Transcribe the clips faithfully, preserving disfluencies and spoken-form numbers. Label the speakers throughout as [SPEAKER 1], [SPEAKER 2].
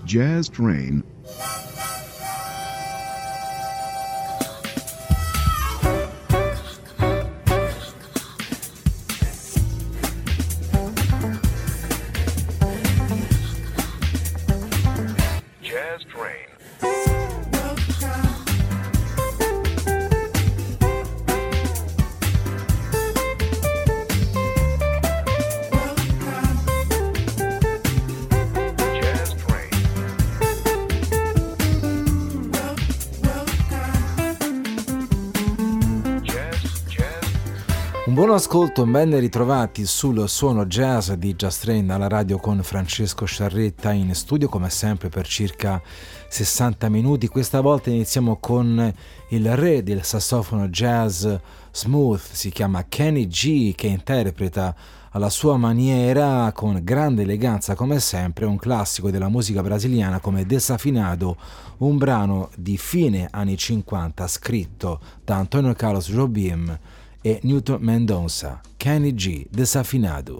[SPEAKER 1] Jazz Train.
[SPEAKER 2] Un buon ascolto, ben ritrovati sul suono jazz di Jazz Train alla radio con Francesco Sciarretta in studio come sempre per circa sessanta minuti. Questa volta iniziamo con il re del sassofono jazz smooth, si chiama Kenny G, che interpreta alla sua maniera con grande eleganza come sempre un classico della musica brasiliana come Desafinado, un brano di fine anni cinquanta scritto da Antonio Carlos Jobim e Newton Mendonça. Kenny G, Desafinado.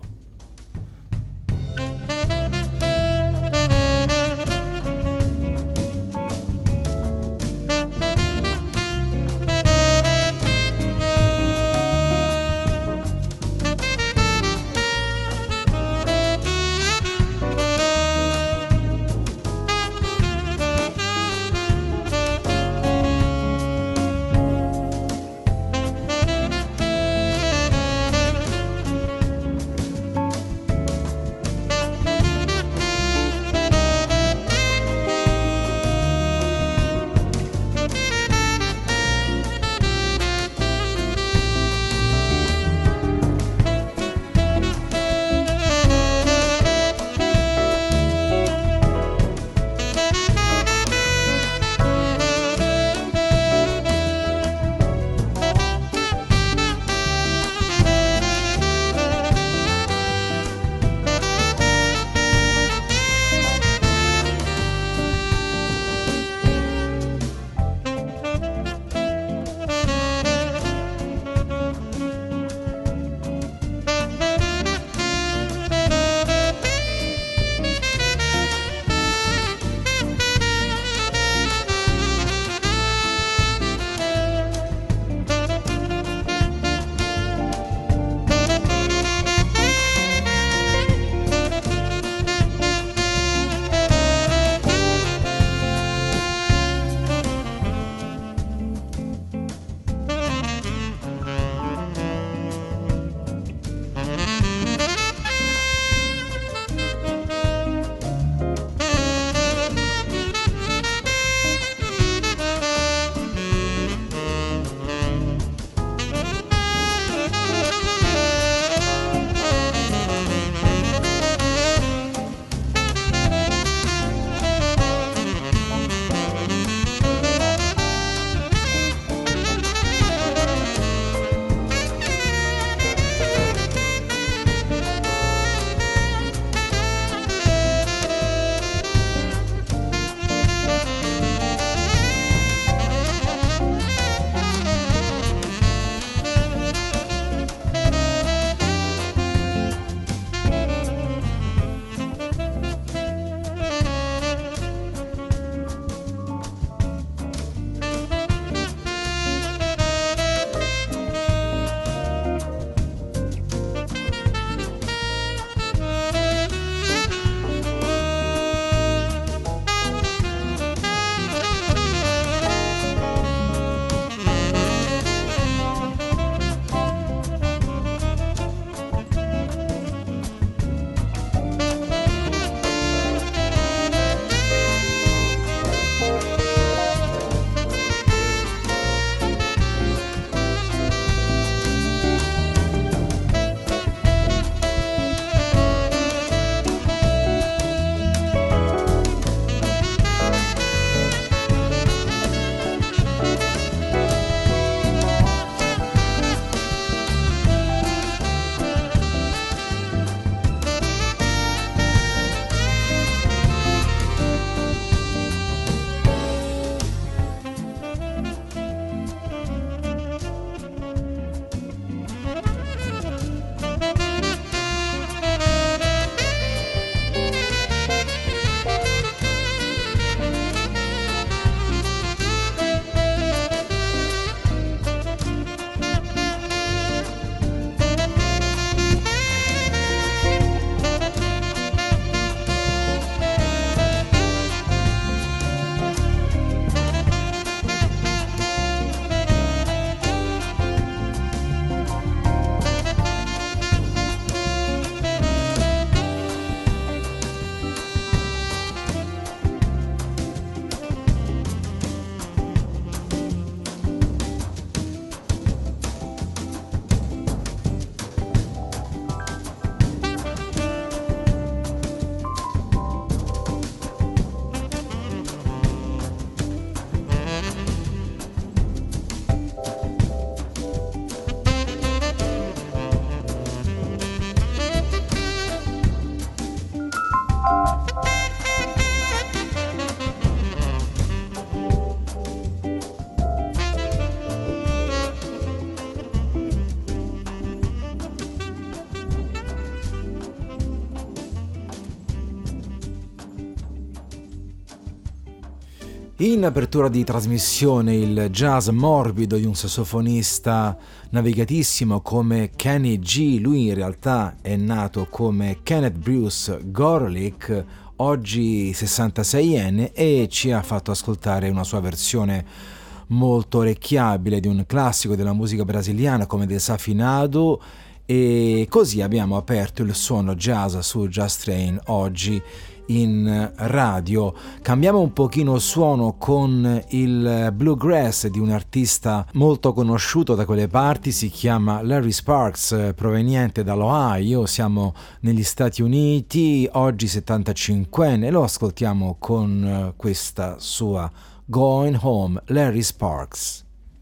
[SPEAKER 2] In apertura di trasmissione il jazz morbido di un sassofonista navigatissimo come Kenny G. Lui in realtà è nato come Kenneth Bruce Gorelick, oggi sessantaseienne, e ci ha fatto ascoltare una sua versione molto orecchiabile di un classico della musica brasiliana come Desafinado, e così abbiamo aperto il suono jazz su Jazz Train oggi in radio. Cambiamo un pochino suono con il bluegrass di un artista molto conosciuto da quelle parti, si chiama Larry Sparks, proveniente dall'Ohio, siamo negli Stati Uniti, oggi settantacinquenne, lo ascoltiamo con questa sua Going Home, Larry Sparks.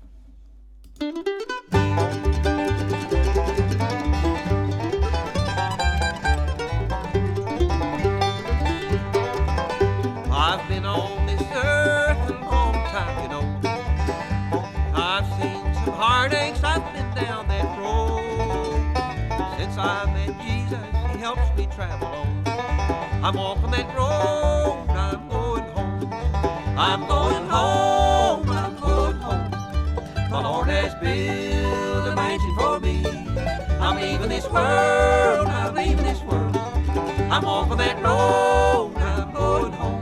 [SPEAKER 1] I've been on this earth a long time, you know. I've seen some heartaches, I've been down that road. Since I met Jesus, He helps me travel on. I'm walking that road, I'm going home. I'm going home, I'm going home. The Lord has built a mansion for me. I'm leaving this world, I'm leaving this world. I'm walking that road, I'm going home.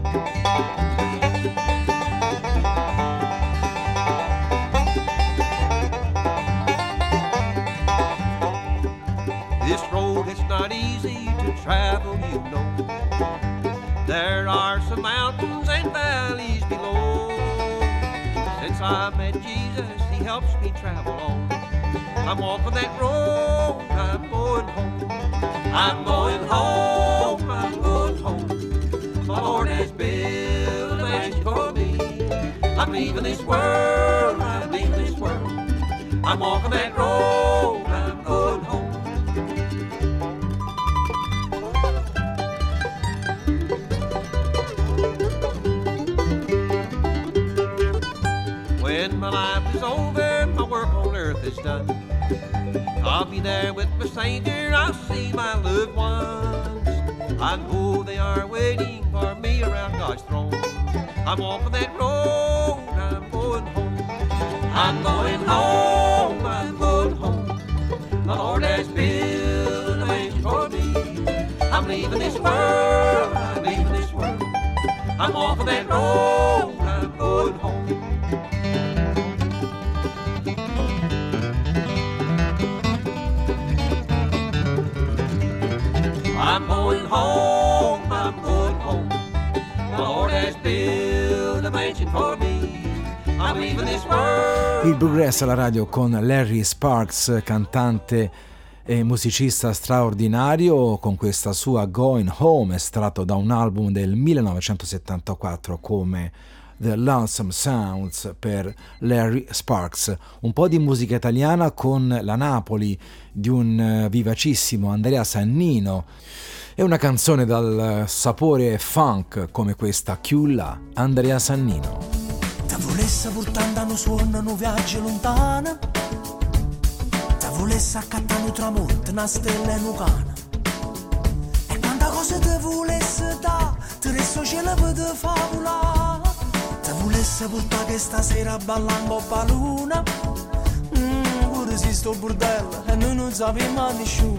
[SPEAKER 1] This road is not easy to travel, you know. There are some mountains and valleys below. Since I met Jesus, He helps me travel on. I'm walking that road, I'm going home. I'm going home, I'm going home. The Lord has built a mansion for me. I'm leaving this world, I'm leaving this world. I'm walking that road, I'm going home. When my life is over, my work on earth is done, I'll be there with my Savior, I'll see my loved ones. I know they are waiting for me around God's throne. I'm walking that road, I'm going home. I'm going home, I'm going home. The Lord has built a mansion for me. I'm leaving this world, I'm leaving this world. I'm walking that road, I'm going home. I'm going home, I'm going home. The Lord has built a mansion for me. I'm leaving this world.
[SPEAKER 2] Il bluegrass alla radio con Larry Sparks, cantante e musicista straordinario, con questa sua Going Home, estratto da un album del millenovecentosettantaquattro come The Lonesome Sounds per Larry Sparks. Un po' di musica italiana con la Napoli di un vivacissimo Andrea Sannino e una canzone dal sapore funk come questa, Chiulla, Andrea Sannino.
[SPEAKER 3] Te volesse portando un suono, un viaggio lontano, te volesse accattare un tramonto, una stella e un cane, e quanta cosa te volesse da, te resto cielo per te favola. Te volesse portare che stasera ballando a luna, mm, pure se sto bordello e noi non sappiamo nessuno,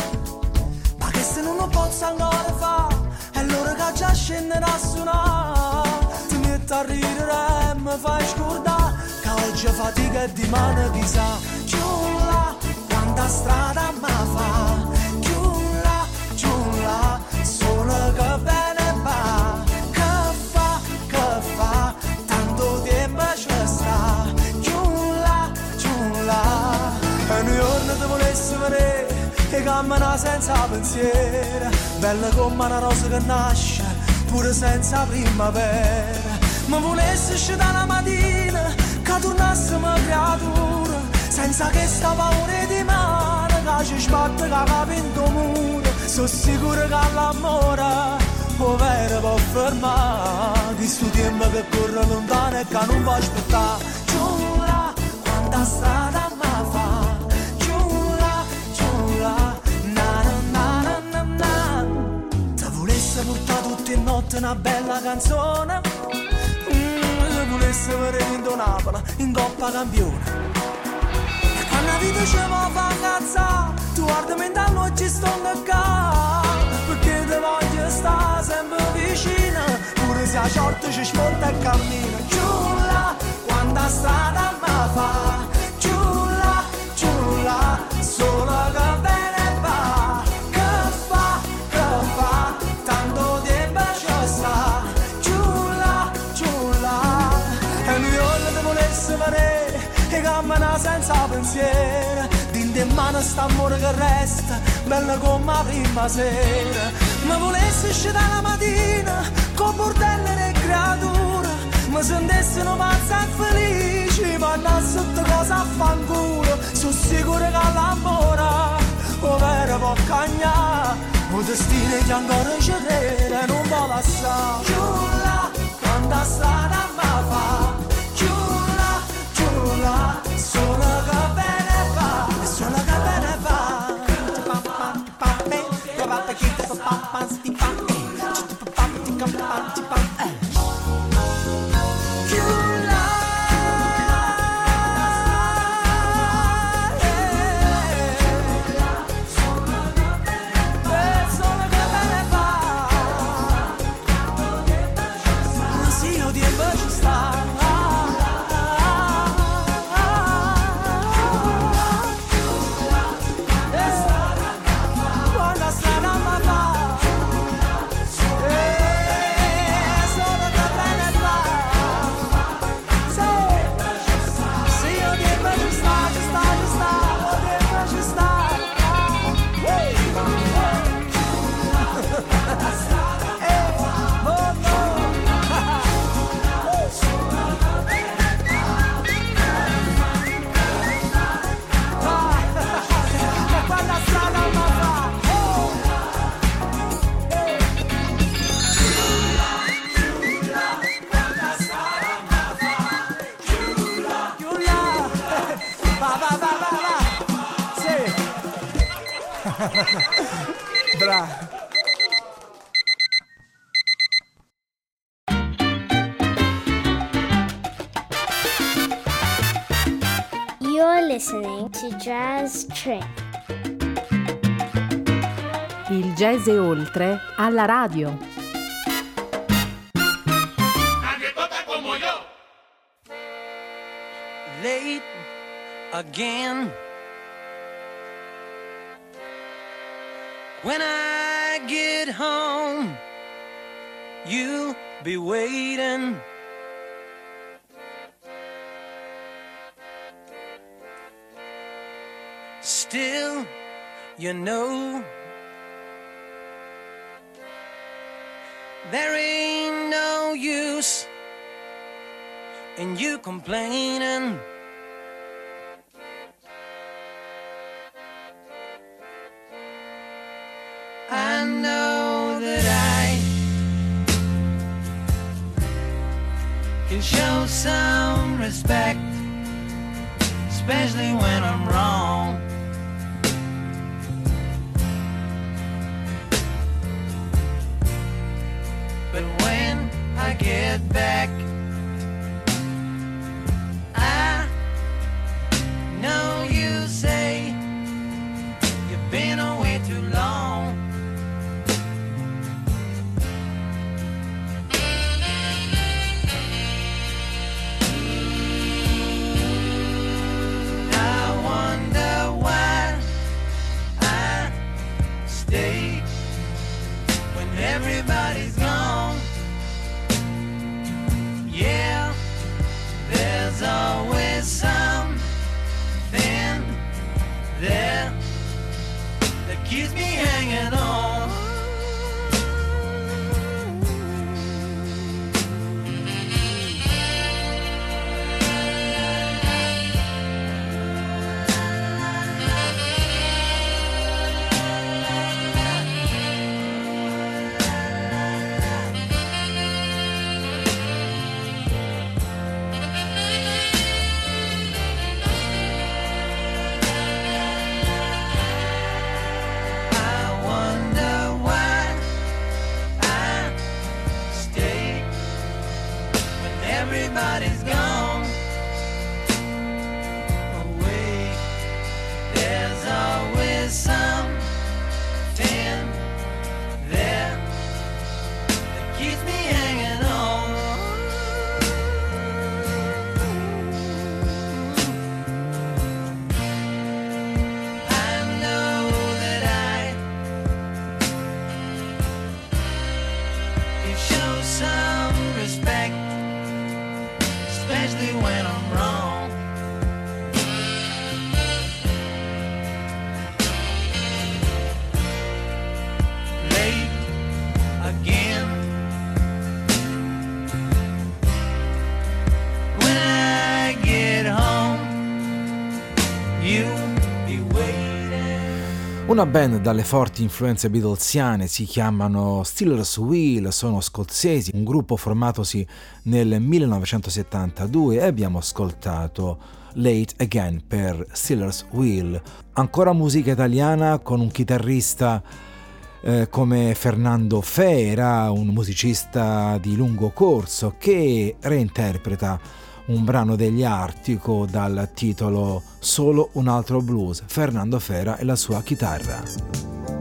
[SPEAKER 3] ma che se non lo posso ancora fare, è l'ora che già scenderà a suonare. Ti metto a ridere e mi fai scordare che oggi fatica e di mano chissà. Giulla, quanta strada mi fa, giulla, giulla, solo che bene va. Che fa, che fa, tanto tempo ci sta. Giulla, giulla, e un giorno ti volessi vedere e cammina senza pensiero, bella come una rosa che nasce pure senza primavera. Ma volessi uscire la mattina che tornassimo creatura, senza che sta paura di mare che ci sbatte che capo in tuo muro. Sono sicuro che l'amore può vero può fermare di sto tempo che corre lontano e che non può aspettare. Giura, quanta strada mi fa, giura, giura, na na na na na. Te volesse portare tutte le notti una bella canzone, mm, volesse vedere in Napoli in Coppa Campione. E quando la vita ci va a far cazzare, tu guardami intanto e ci sto qua, perché ti voglio stare sempre vicino, pure se a short ci smonta e cammina. Giulla, quanta strada mi fa, giulla, giulla, solo che bene va, che fa, che fa, tanto tempo ci sta, giulla, giulla, e noi ora ti volesse vedere, e cammina senza pensiero, dinte in mano sta amore che resta, bella come la prima sera, ma volesse uscire la mattina, con bordello e creatura, mi sentessero pazza e felici, vanno sotto cosa a fanculo, sono sicuro che l'amore, o vero può cagnare, o destino che ancora ci crede, non può lasciare. Giulla, quanta strada mi fa, giulla, giulla, solo che bene va, solo che bene va. Bravo.
[SPEAKER 4] You're listening to Jazz Trip.
[SPEAKER 5] Il jazz e oltre alla radio.
[SPEAKER 3] Late again. When I get home, you'll be waiting. Still, you know, there ain't no use in you complaining. I know that I can show some respect, especially when I'm wrong. But when I get back, I know you say you've been away too long. Everybody's gone. Yeah, there's always something there that keeps me hanging on. I wonder
[SPEAKER 2] Una band dalle forti influenze beatlesiane, si chiamano Stealers Wheel, sono scozzesi, un gruppo formatosi nel millenovecentosettantadue, e abbiamo ascoltato Late Again per Stealers Wheel. Ancora musica italiana con un chitarrista eh, come Fernando Fera, un musicista di lungo corso che reinterpreta un brano degli Artico dal titolo Solo un altro blues, Fernando Fera e la sua chitarra.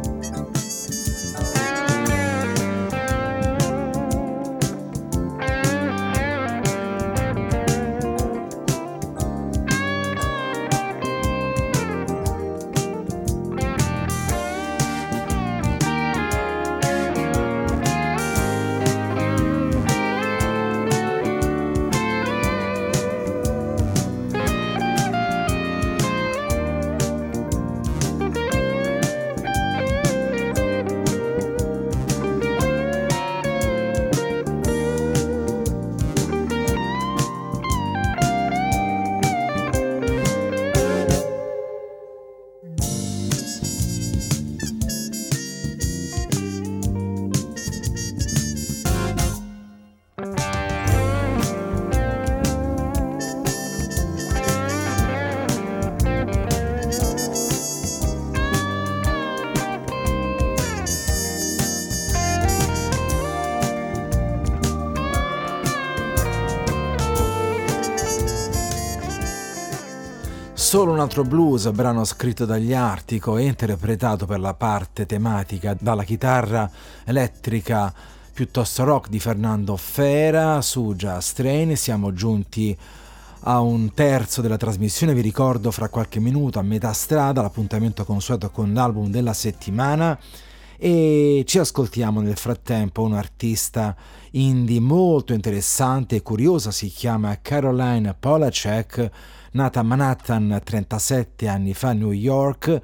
[SPEAKER 2] Solo un altro blues, brano scritto dagli Artico e interpretato per la parte tematica dalla chitarra elettrica piuttosto rock di Fernando Fera su Jazz Train. Siamo giunti a un terzo della trasmissione, vi ricordo fra qualche minuto a metà strada l'appuntamento consueto con l'album della settimana, e ci ascoltiamo nel frattempo un artista indie molto interessante e curiosa, si chiama Caroline Polachek, nata a Manhattan trentasette anni fa a New York,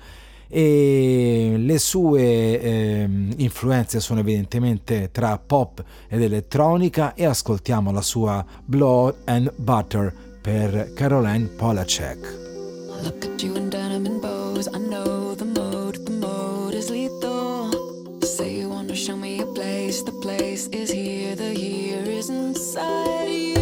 [SPEAKER 2] e le sue eh, influenze sono evidentemente tra pop ed elettronica, e ascoltiamo la sua Blood and Butter per Caroline Polachek.
[SPEAKER 6] Look at you in denim and bows. I know the mode, the mode is lethal. Say you wanna show me a place, the place is here, the here is inside you.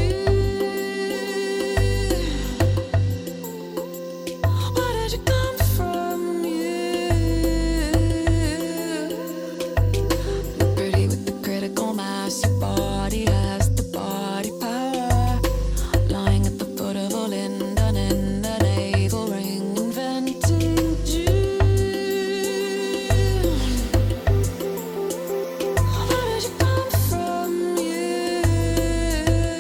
[SPEAKER 7] Yeah.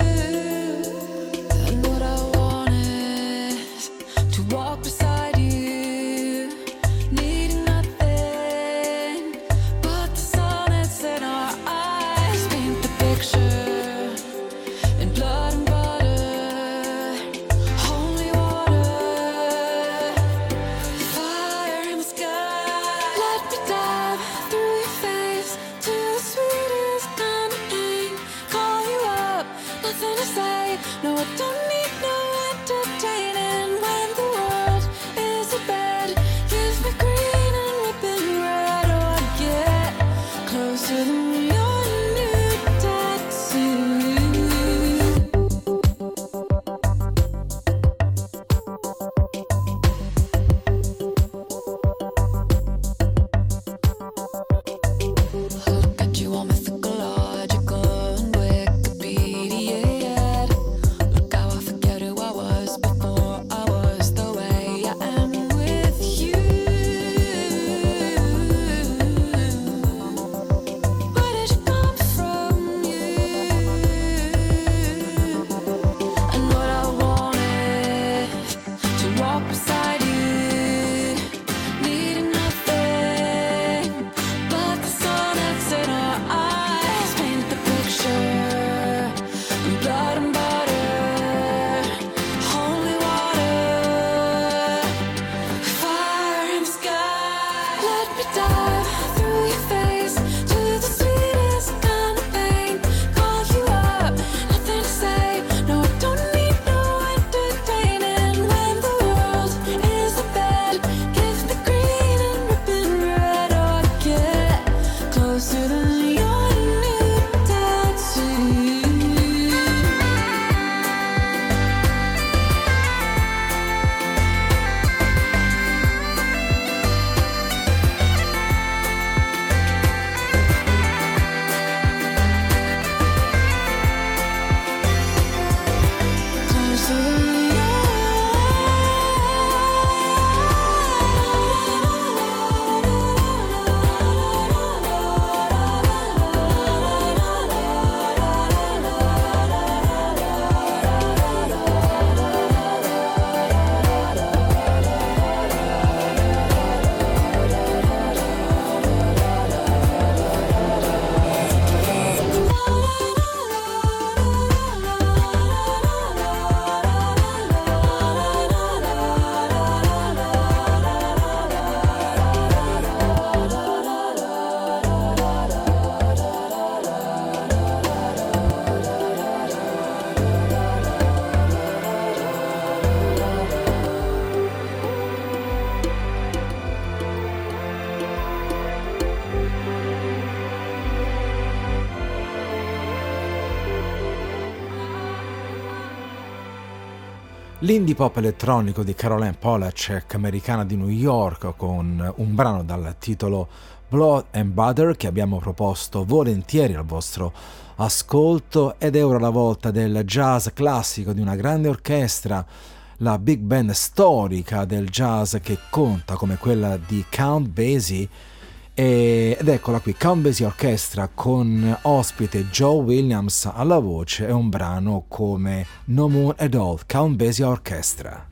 [SPEAKER 2] L'indie pop elettronico di Caroline Polachek, americana di New York, con un brano dal titolo Blood and Butter che abbiamo proposto volentieri al vostro ascolto. Ed è ora la volta del jazz classico di una grande orchestra, la big band storica del jazz che conta come quella di Count Basie. Ed eccola qui, Count Basie Orchestra con ospite Joe Williams alla voce e un brano come No Moon at All, Count Basie Orchestra.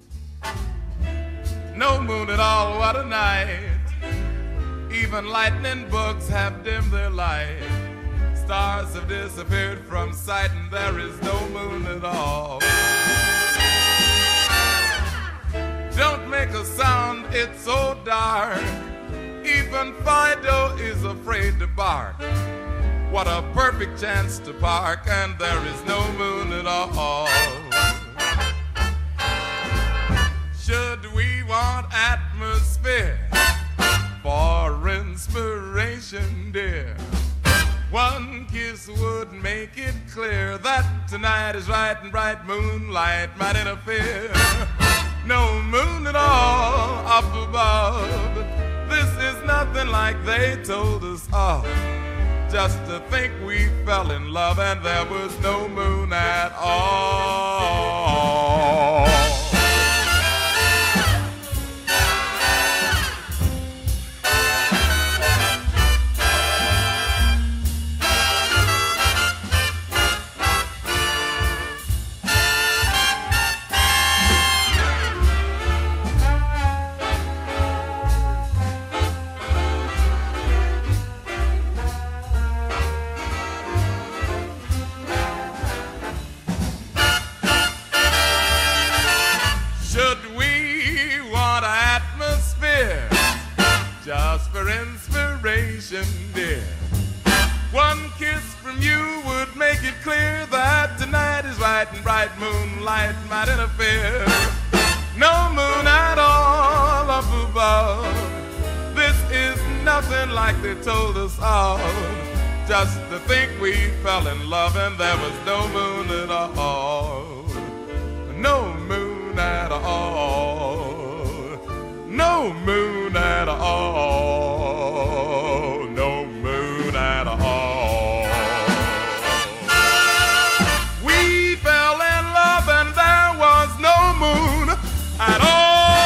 [SPEAKER 7] No moon at all, what a night. Even lightning bugs have dimmed their light. Stars have disappeared from sight and there is no moon at all. Don't make a sound, it's so dark. Even Fido is afraid to bark. What a perfect chance to park, and there is no moon at all. Should we want atmosphere for inspiration, dear? One kiss would make it clear that tonight is right and bright moonlight might interfere. No moon at all up above. This is nothing like they told us of. Just to think we fell in love and there was no moon at all. Dear, one kiss from you would make it clear that tonight is right and bright moonlight might interfere. No moon at all up above. This is nothing like they told us of. Just to think we fell in love and there was no moon at all. No moon at all. No moon at all. No moon at all. We fell in love and there was no moon at all.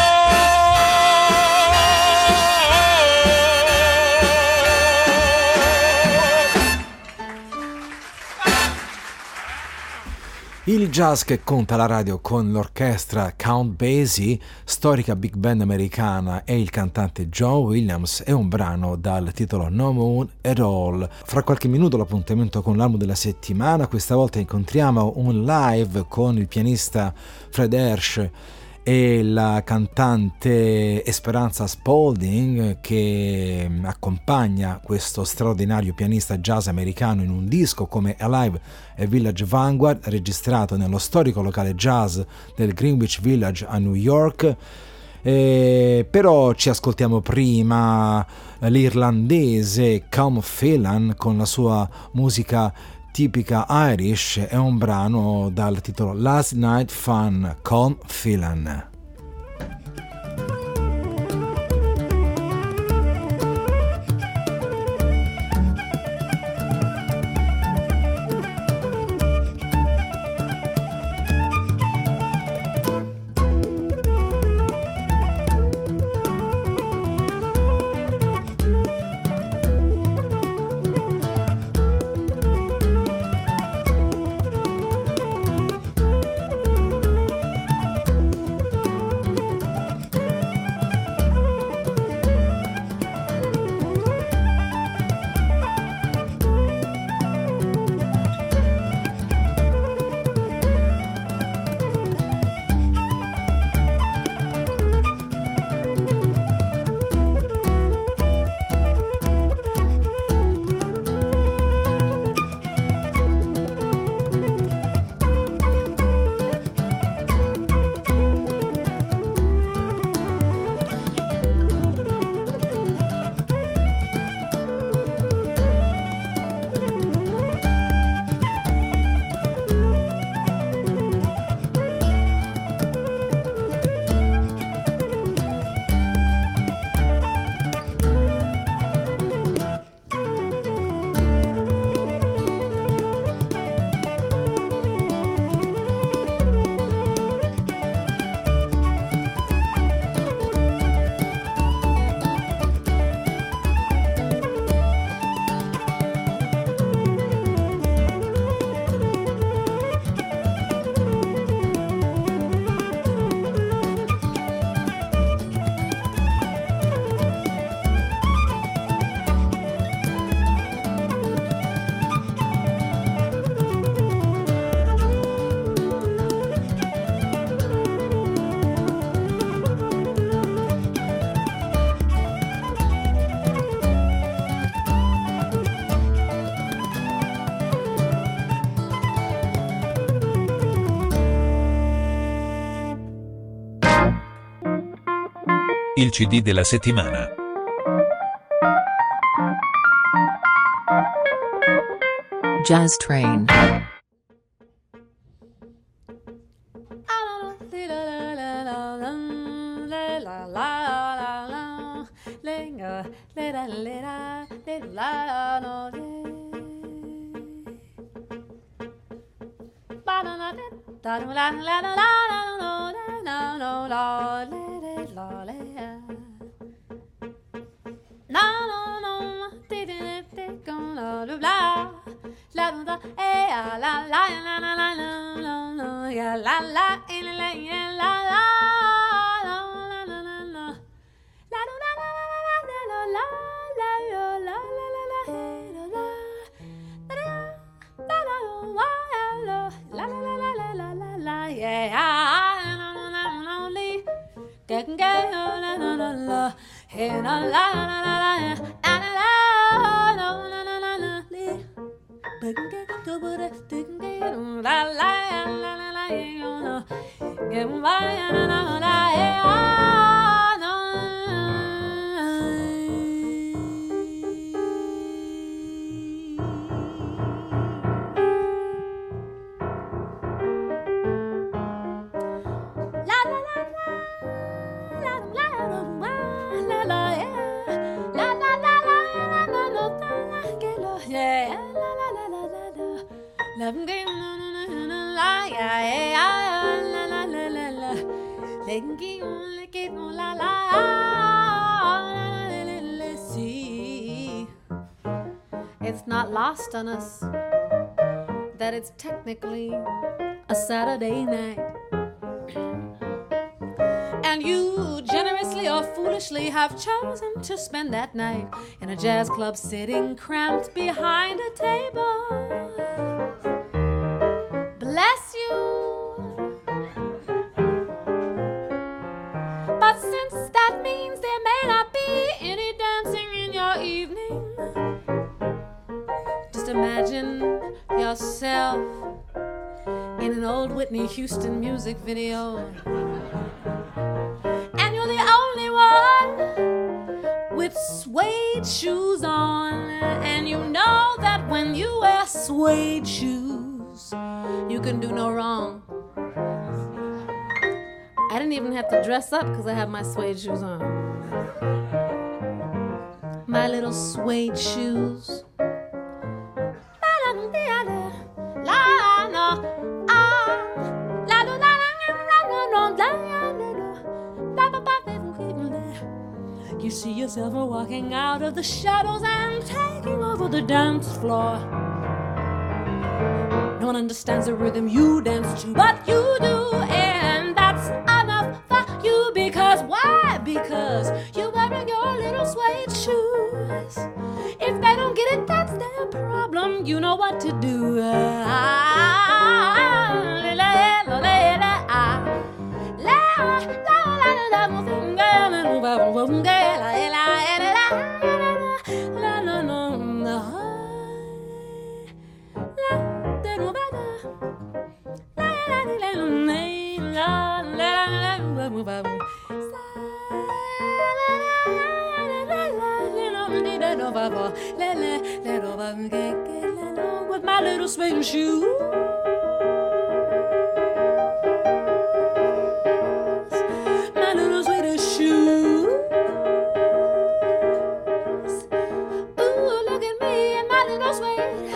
[SPEAKER 2] Il jazz che conta la radio con l'orchestra Count Basie, storica big band americana, e il cantante Joe Williams è un brano dal titolo No Moon at All. Fra qualche minuto l'appuntamento con l'album della settimana, questa volta incontriamo un live con il pianista Fred Hersch e la cantante Esperanza Spalding, che accompagna questo straordinario pianista jazz americano in un disco come Alive e Village Vanguard, registrato nello storico locale jazz del Greenwich Village a New York. Eh, però ci ascoltiamo prima l'irlandese Colm Phelan con la sua musica tipica Irish. È un brano dal titolo Last Night Fun, Colm Phelan.
[SPEAKER 8] il C D della settimana.
[SPEAKER 5] Jazz Train.
[SPEAKER 9] It's not lost on us that it's technically a Saturday night. And you generously or foolishly have chosen to spend that night in a jazz club sitting cramped behind a table. Bless you. But since that means there may not be any dancing in your evening, just imagine yourself in an old Whitney Houston music video. And you're the only one with suede shoes on. And you know that when you wear suede shoes, you can do no wrong. I didn't even have to dress up because I have my suede shoes on. My little suede shoes. You see yourself walking out of the shadows and taking over the dance floor. No one understands the rhythm you dance to, but you do, and that's enough for you. Because why? Because you're wearing your little suede shoes. If they don't get it, that's their problem. You know what to do. With my little suede shoes, my little suede shoes. Ooh, look at me and my little suede.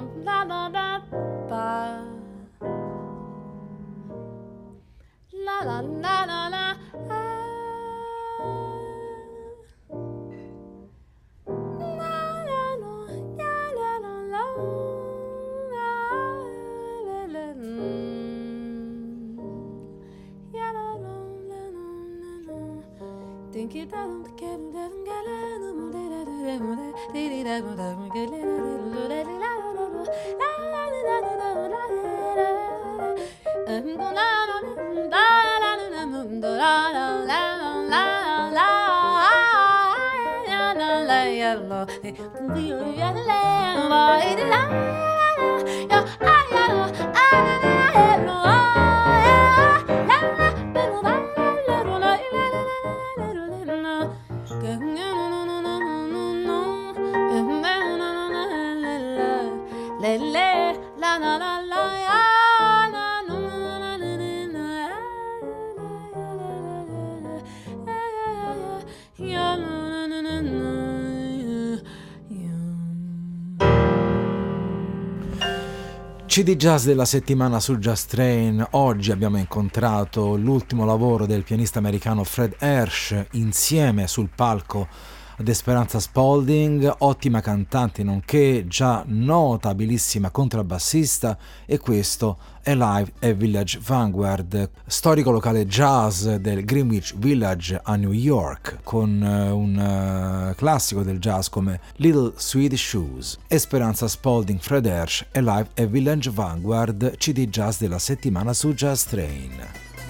[SPEAKER 9] la la la ba. La la la la la. Think it doesn't get
[SPEAKER 2] C D Jazz della settimana su Jazz Train. Oggi abbiamo incontrato l'ultimo lavoro del pianista americano Fred Hersch insieme sul palco ad Esperanza Spalding, ottima cantante nonché già notabilissima contrabbassista, e questo è Live at Village Vanguard, storico locale jazz del Greenwich Village a New York, con un uh, classico del jazz come Little Sweet Shoes. Esperanza Spalding, Fred Hersch e Live at Village Vanguard, C D Jazz della settimana su Jazz Train.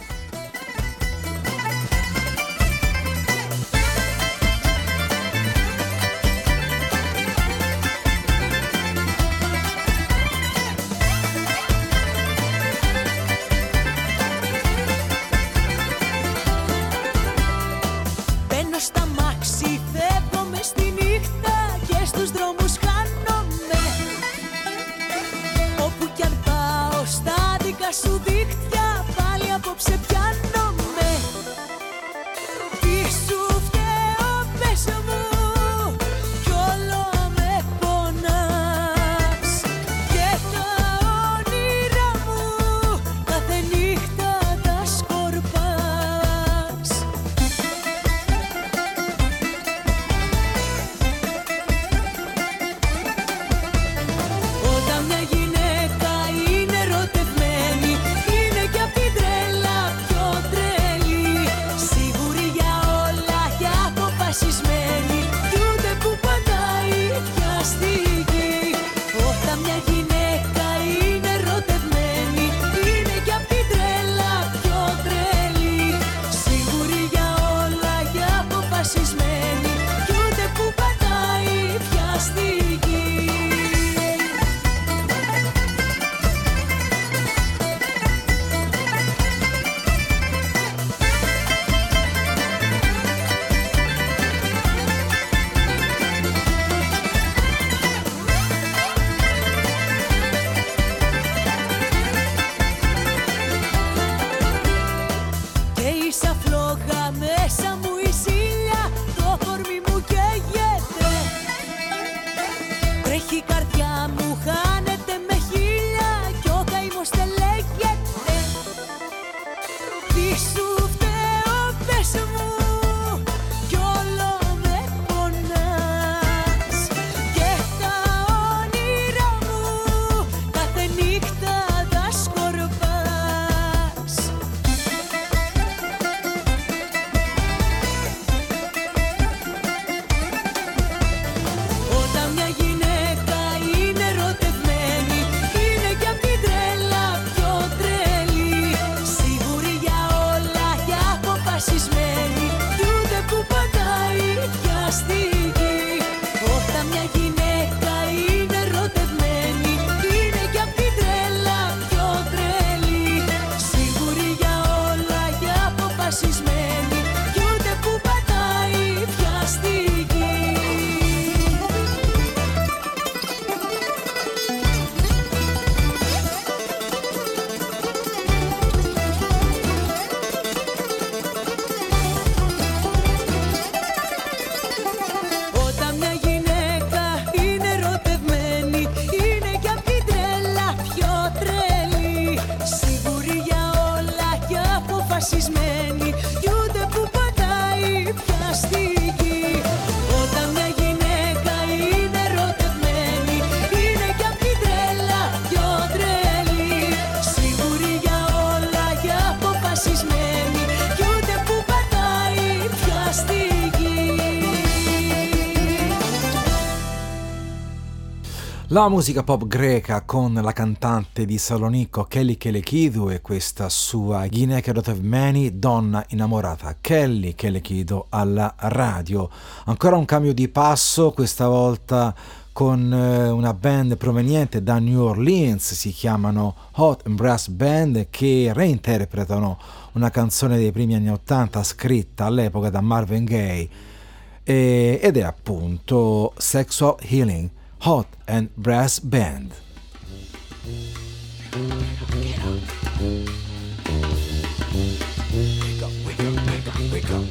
[SPEAKER 3] Σου δίχτυα πάλι απόψε πιάνομαι. Τι σου φταίω πες μου, κι όλο με πονάς. Και τα όνειρά μου κάθε νύχτα τα σκορπάς. Όταν μια γυναίκα είναι ερωτευμένη, είναι κι απ' την τρέλα πιο τρελή. Σίγουρη για όλα και αποφασισμένη, κι ούτε που πατάει πιαστική. Όταν μια γυναίκα είναι ερωτευμένη, είναι κι απ' την τρέλα πιο τρελή. Σίγουρη για όλα και αποφασισμένη, κι ούτε που πατάει πιαστική. Και ίσα φλόγα μέσα μου η ζήλια, το κορμί μου καίγεται. Τρέχει η καρδιά μου, χάνεται με χίλια, κι ο καημός δεν λέγεται. Τι σου φταίω πες μου, κι όλο με πονάς. Και τα όνειρά μου κάθε νύχτα τα σκορπάς. Όταν μια γυναίκα είναι ερωτευμένη,
[SPEAKER 2] La musica pop greca con la cantante di Salonicco Kelly Kelekidou e questa sua Ghineke Rotovmeni, donna innamorata. Kelly Kelekidou alla radio. Ancora un cambio di passo, questa volta con una band proveniente da New Orleans, si chiamano Hot and Brass Band, che reinterpretano una canzone dei primi anni ottanta scritta all'epoca da Marvin Gaye ed è appunto Sexual Healing. Hot and Brass Band.
[SPEAKER 3] Wake up, wake up, wake up, wake up.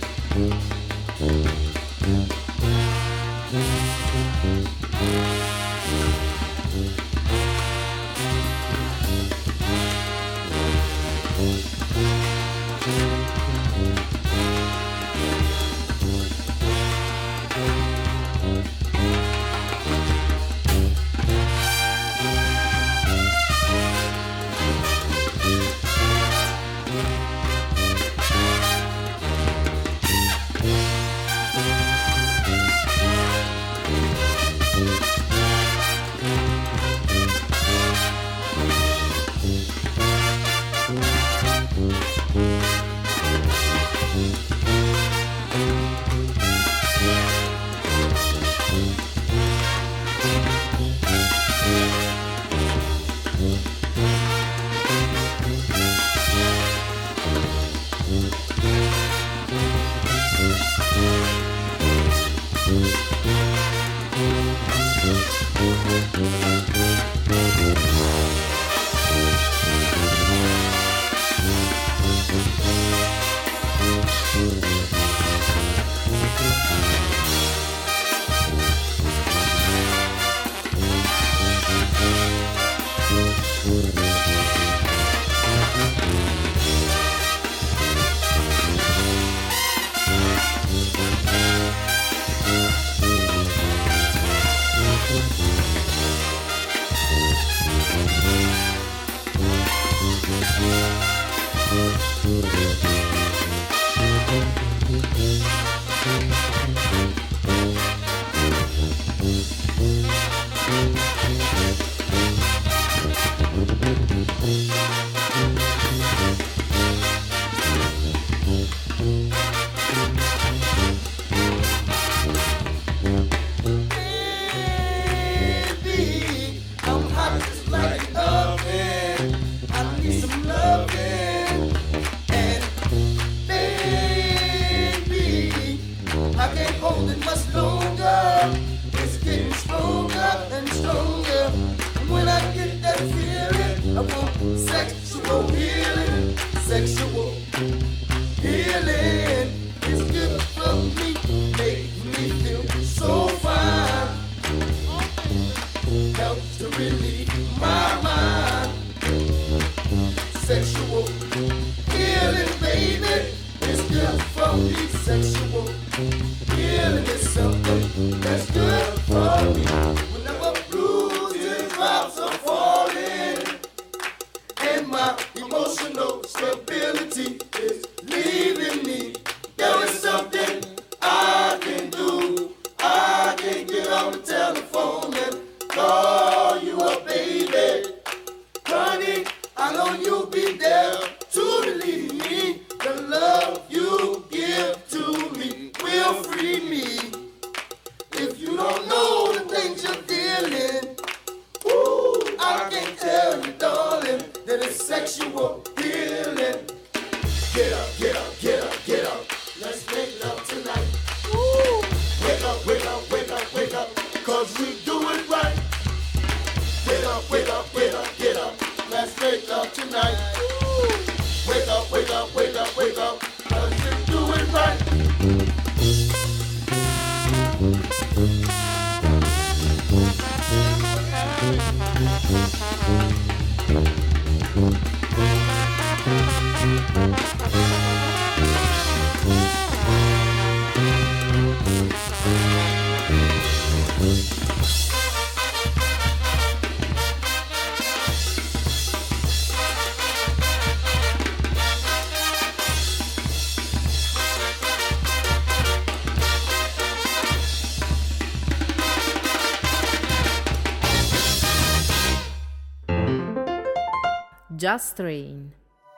[SPEAKER 5] Just Rain.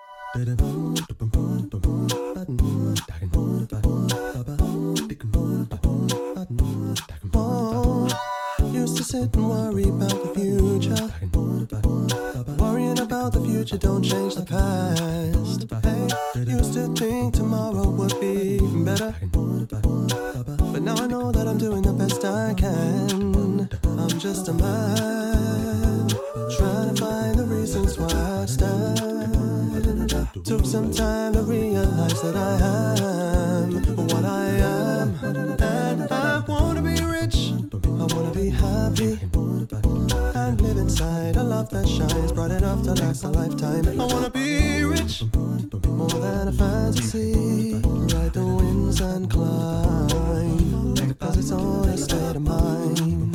[SPEAKER 8] Used to sit and worry about the future. Worrying about the future don't change the past. Hey, used to think tomorrow would be better, but now I know that I'm doing the best I can. I'm just a man trying to find the reasons why I stand. Took some time to realize that I am what I am, and I wanna be rich, I wanna be happy, and live inside a love that shines bright enough to last a lifetime. I wanna be rich, more than a fantasy, ride the winds and climb, because it's all a state of mind.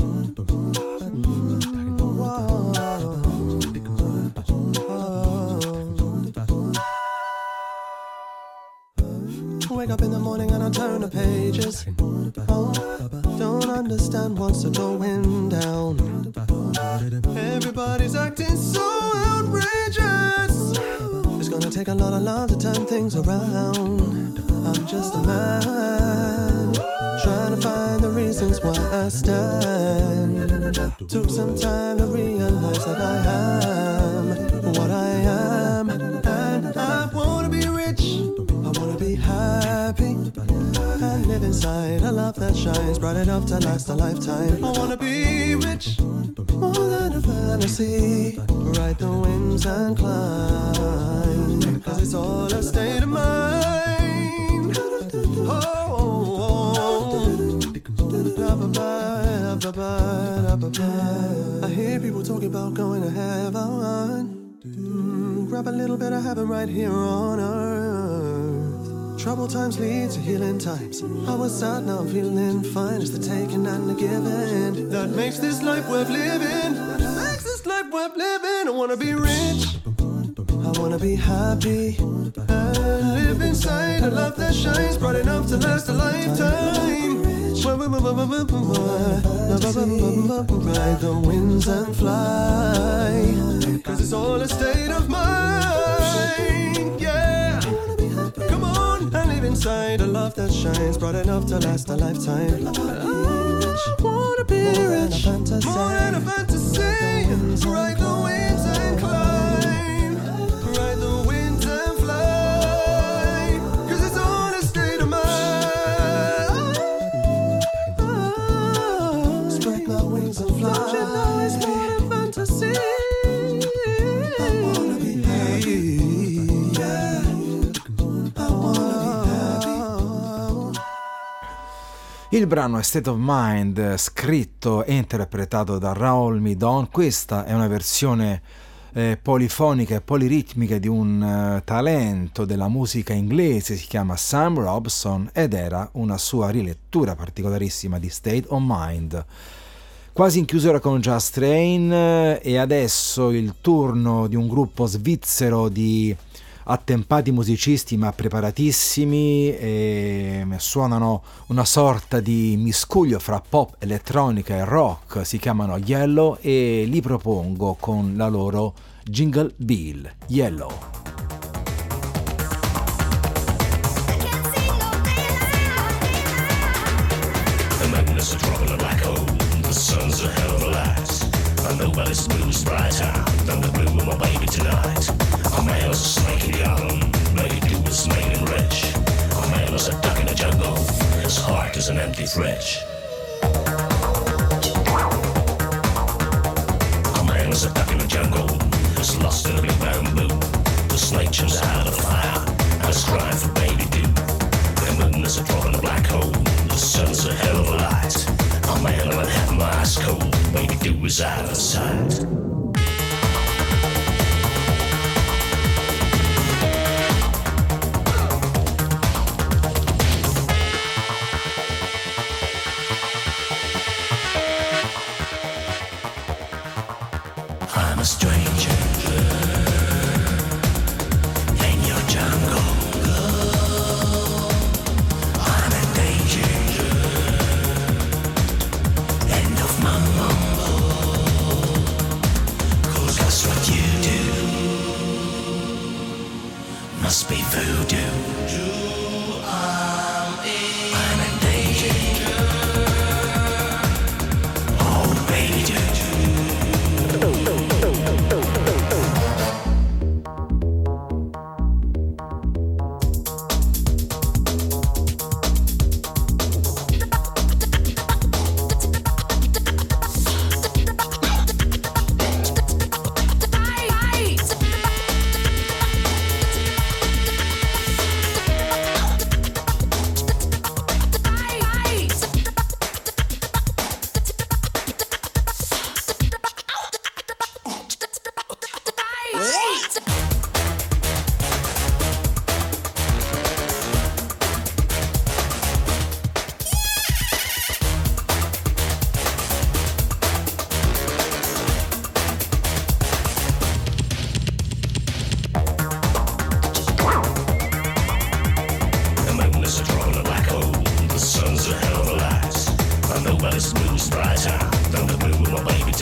[SPEAKER 8] Wake up in the morning and I turn the pages. Oh, don't understand what's going down. Everybody's acting so outrageous. It's gonna take a lot of love to turn things around. I'm just a man trying to find the reasons why I stand. Took some time to realize that I am what I am, and I wanna be rich, I wanna be happy, and live inside a love that shines bright enough to last a lifetime. I wanna be rich, more than a fantasy, ride the winds and climb, cause it's all a state of mind. Oh, oh, oh. I hear people talking about going to heaven. Mm, grab a little bit of heaven right here on earth. Troubled times lead to healing times. I was sad, now I'm feeling fine. It's the taking and the giving that makes this life worth living. That makes this life worth living. I wanna be rich, I wanna be happy, and live inside a love that shines bright enough to last a lifetime. Ride the winds and fly, cause it's all a state of mind. Yeah, come on and live inside a love that shines bright enough to last a lifetime. I wanna be rich, more than a fantasy. Ride the winds and climb, ride the winds and fly, cause it's all a state of mind. Spread my wings and fly. Don't you know it's more than fantasy? I wanna be happy, yeah. I wanna be happy.
[SPEAKER 2] Il brano è State of Mind, scritto e interpretato da Raoul Midon. Questa è una versione eh, polifonica e poliritmica di un uh, talento della musica inglese, si chiama Sam Robson, ed era una sua rilettura particolarissima di State of Mind. Quasi in chiusura con Just Rain, e adesso il turno di un gruppo svizzero di attempati musicisti ma preparatissimi, e suonano una sorta di miscuglio fra pop, elettronica e rock. Si chiamano Yellow e li propongo con la loro Jingle Bell, Yellow.
[SPEAKER 10] The magnets are dropping a black hole. The sun's a hell of a light, and nobody moves brighter than the blue of my baby tonight. A man is a snake in the island, made do is made and rich. A man is a duck in the jungle, his heart is an empty fridge. A man is a duck in the jungle, is lost in a big bamboo. The snake jumps out of the fire, and is crying for baby dew. The moon is a drop in a black hole, the sun's a hell of a light. A man will have my eyes cold, baby dew is out of sight. I'm a stranger in your jungle. I'm in danger. End of my mumble. 'Cause that's what you do.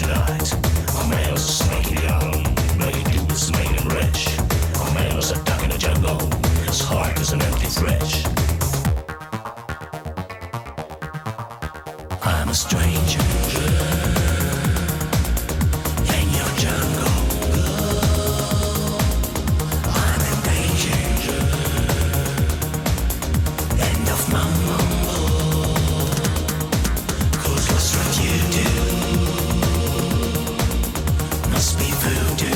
[SPEAKER 10] tonight. A male's a snake in the island, made do is made him rich. A male's a duck in the jungle, his heart is an empty thresh. I'm a stranger in your jungle. I'm in danger. End of my mumble. Cause what's what you do must be voodoo.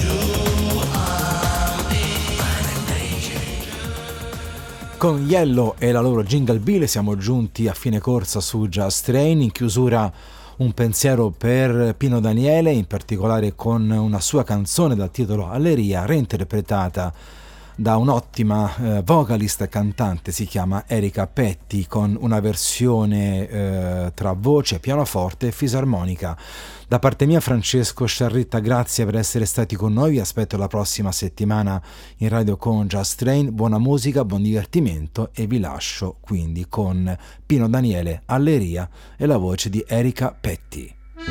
[SPEAKER 2] Con Yellow e la loro Jingle Bell siamo giunti a fine corsa su Jazz Train. In chiusura un pensiero per Pino Daniele, in particolare con una sua canzone dal titolo Alleria, reinterpretata da un'ottima eh, vocalist e cantante, si chiama Erika Petti, con una versione eh, tra voce, pianoforte e fisarmonica. Da parte mia, Francesco Sciarritta, grazie per essere stati con noi, vi aspetto la prossima settimana in radio con Jazz Train. Buona musica, buon divertimento e vi lascio quindi con Pino Daniele, Alleria e la voce di Erika Petti.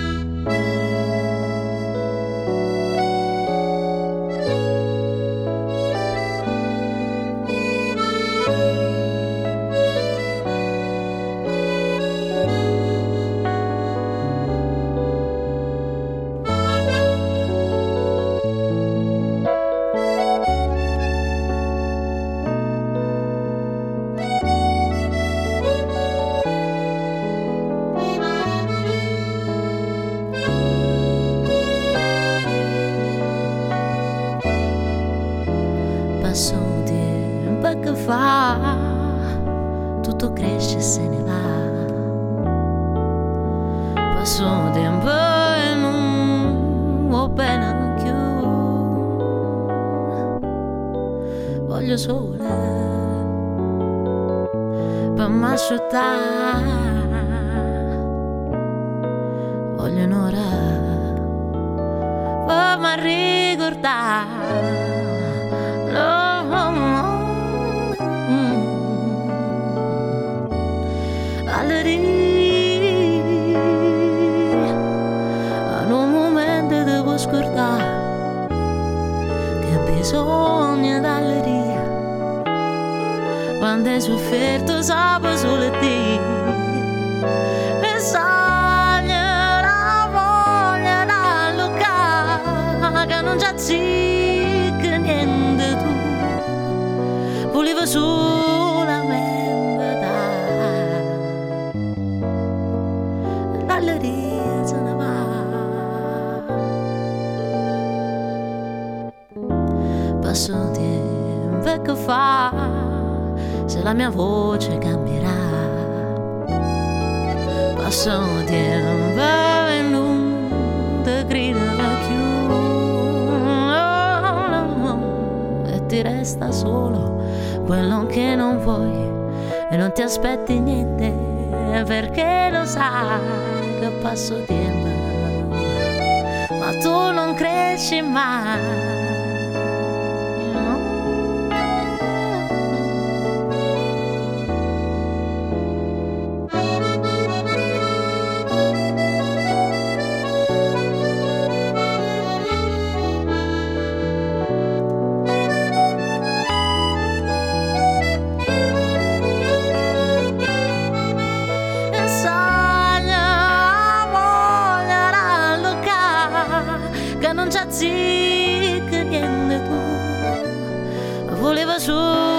[SPEAKER 11] Tutto cresce e se ne va. Passo tempo e non va bene più. Voglio sole per m'asciuttare. Voglio un'ora per m'arricordare. In un momento devo scordare che ho bisogno d'alleria. Quando hai sofferto sape solo te e sogno la voglia d'allucare che non c'è zicca niente tu. Volevo solamente dare l'alleria se ne va. Passo tempo che fa se la mia voce cambierà. Passo tempo e non ti grida più. Oh, no, no. E ti resta solo quello che non vuoi e non ti aspetti niente perché lo sai che passo tempo ma tu non cresci mai. Zicca niente tu, voleva su